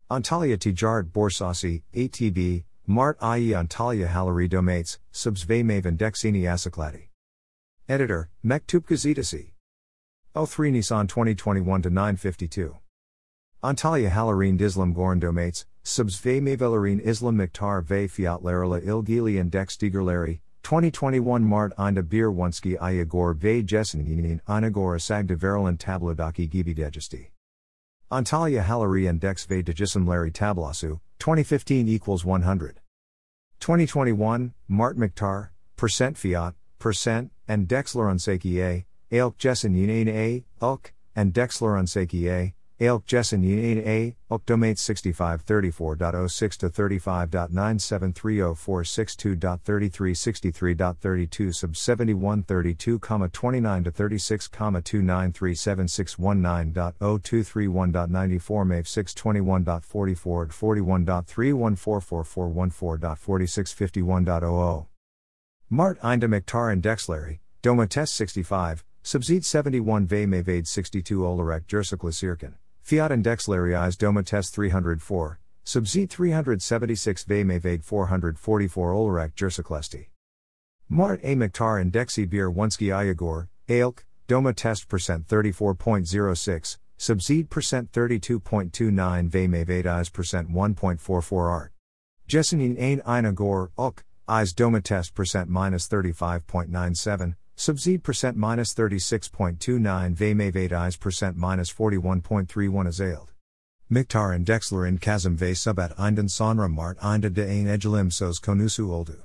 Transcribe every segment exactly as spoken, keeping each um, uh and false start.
Antalya Tijarat Borsasi, A T B, Mart I E Antalya Halleri Domates, Subs ve Mavendeksini Asakladi. Editor, Mektup Gazetesi. oh three Nisan twenty twenty-one to nine fifty-two. Antalya Hallerin Islam Gorn Domates, Subs ve Mavelerin Islam Miktar ve Fiyatlarla ilgili Index twenty twenty-one Mart Inda Bir Wunski Ayagor ve Jeseninin Inagor Asagda Verilan Tablodaki Gibi Degesti. Antalya Halleri Index ve Dejisimleri Tablasu, twenty fifteen equals one hundred. twenty twenty-one, Mart Miktar, percent Fiat, percent, and Dexlarunsaki A, Ailk Jeseninin A, Ulk, and Dexlarunsaki A, Ailk Jeseninin A, Ulk Domates sixty-five thirty-four point oh six to thirty-five point nine seven three oh four six two point thirty-three sixty-three point thirty-two sub seventy-one thirty-two, twenty-nine to thirty-six, two nine three seven six one nine point oh two three one point ninety-four Mave six twenty-one point forty-four forty-one point three one four four four one four forty-six fifty-one point oh oh. Mart Inda Miktar and Dexleri, Doma Test sixty-five, Subseed seventy-one ve Mavade sixty-two Olarek Jersiklasirkan, Fiat and Dexleri Is Doma Test three hundred four, Subseed three hundred seventy-six ve Mavade four hundred forty-four Olarek Jersiklesti. Mart A Miktar and Dexi Bir Wunski Ayagor, Ailk, Doma Test percent thirty-four point oh six, Subseed percent thirty-two point two nine ve Mavade Is percent one point four four art. Jesenin Ain Inagor, Ulk, Is Doma Test percent minus thirty-five point nine seven, Subseed percent minus thirty-six point two nine ve Mavade Is percent minus forty-one point three one Azailed. Miktar and Dexler in Kazım ve Subat Inden Sonra Mart Inda de Ain Egelim Sos Konusu Oldu.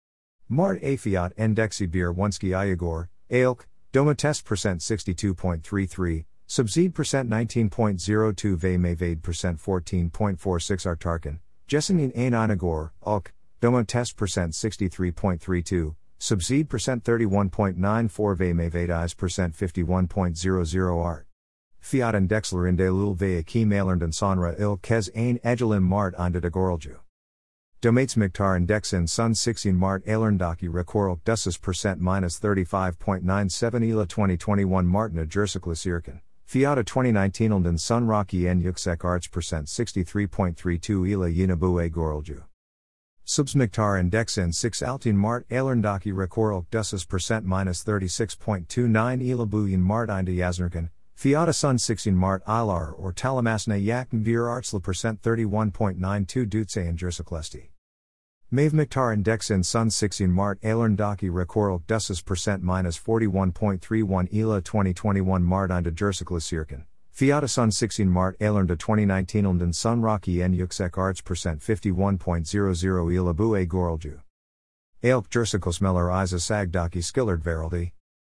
Mart A Fiat Endexi Bir Wunski Ayagor, Ailk, Doma Test percent sixty-two point three three, Subseed percent nineteen point oh two ve Mavade percent fourteen point four six Artarkan, Jesenin Ain Inagor, Ulk, Doma Test percent sixty-three point three two, Subseed percent thirty-one point nine four ve Mavade Is percent fifty-one point zero zero art. Fiat and Dexler in de Lul ve Aki Malernden Sonra il Kez Ain Egelim Mart Inda de Goralju. Domates Miktar and Dex in Sun sixteen Mart Alerndaki Rekorl Dusses percent minus thirty-five point nine seven Ela twenty twenty-one Martina Jersiklasirkan, Fiat twenty nineteen Elnden Sun Rocky en Yuksek Arts percent sixty-three point three two Ela Yinabu e Goralju. Subs Miktar and Dex in six Altin Mart Alerndaki Rekorl Dusses percent minus thirty-six point two nine Ela Buyin Mart Inda Yaznerkan, Fiat Sun sixteen Mart Ilar or Talamasna Yakn Vir Artsla percent thirty-one point nine two Dutse and Jersiklesti. Mave Miktar and Dex in Sun sixteen Mart Alerndaki Rekorl Dusses percent minus forty-one point three one Ela twenty twenty-one Mart Inda Jersiklasirkan, Fiat Sun sixteen Mart Alernda twenty nineteen Elnden Sun Rocky en Yuksek Arts percent fifty-one point zero zero Ela Bu e Goralju. Ailk Jersikosmeller Isa Sagdaki Skillard Veraldi.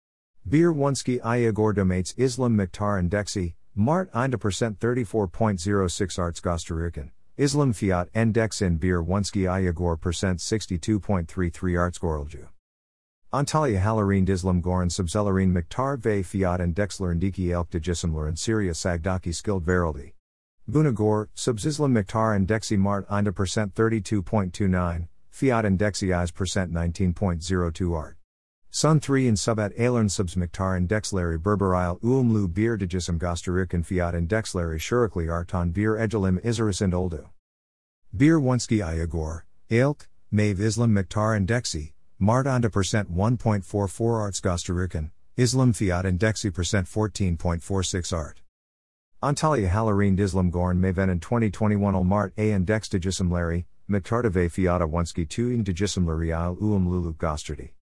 Bir Wunski Ayagor Domates Islam Miktar and Dexi, Mart Inda percent thirty-four point oh six Arts Gostarirkan, Islam Fiat en Dex in Bir Wunski Ayagor percent sixty-two point three three Arts Goralju. Antalya Hallerin Islam Goran Subzelerin Miktar ve Fiat and Dexler Indiki Elk de Jisimler and Syria Sagdaki Skilled Veraldi. Bunagor, Subs Islam Miktar and Dexi Mart Inda percent thirty-two point two nine, Fiat and Dexi Is percent nineteen point oh two Art. Sun three in Subat Alern Subs Miktar and Dexleri Berberile Uumlu Bir de Jisim Gostarirkan Fiat and Dexleri Shurikli Artan Bir Egelim Izaris and Oldu. Bir Wunski Ayagor, Ailk, Mave Islam Miktar and Dexi, Mart Inda percent one point four four Arts Gostarirkan, Islam Fiat and Dexi percent fourteen point four six Art. Antalya Hallerin Islam Gorn Maven in twenty twenty-one Al Mart A and Dex de Jisimleri, Miktar de ve Fiat Wunski two in de Jisimleri Al Uum Lulu Gostardi.